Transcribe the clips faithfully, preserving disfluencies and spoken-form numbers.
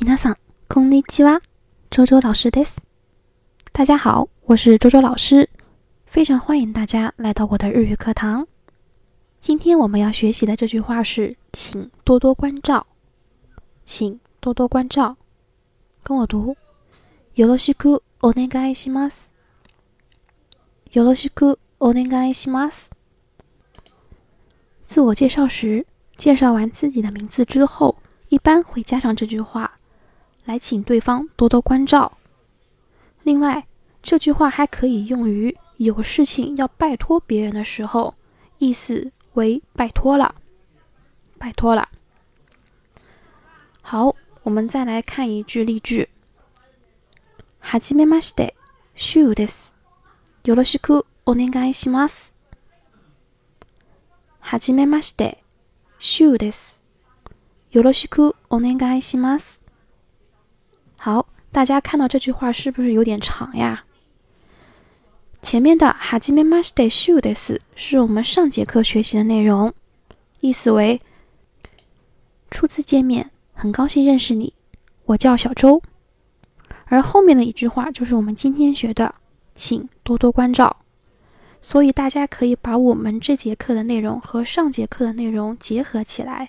皆さん、こんにちは。周周老师です。大家好，我是周周老师，非常欢迎大家来到我的日语课堂。今天我们要学习的这句话是，请多多关照。请多多关照。跟我读。よろしくお願いします。よろしくお願いします。自我介绍时，介绍完自己的名字之后，一般会加上这句话，来请对方多多关照。另外，这句话还可以用于有事情要拜托别人的时候，意思为拜托了，拜托了。好，我们再来看一句例句。はじめまして、シュウです。よろしくお願いします。はじめまして、シュウです。よろしくお願いします。好，大家看到这句话是不是有点长呀？前面的はじめましてシュウです是我们上节课学习的内容，意思为初次见面，很高兴认识你，我叫小周。而后面的一句话就是我们今天学的，请多多关照。所以大家可以把我们这节课的内容和上节课的内容结合起来。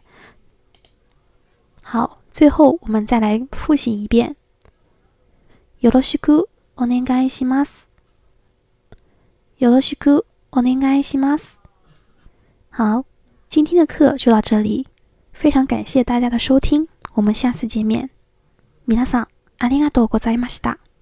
好，最后我们再来复习一遍。よろしくお願いします。よろしくお願いします。好，今天的课就到这里，非常感谢大家的收听，我们下次见面。皆さん、ありがとうございました。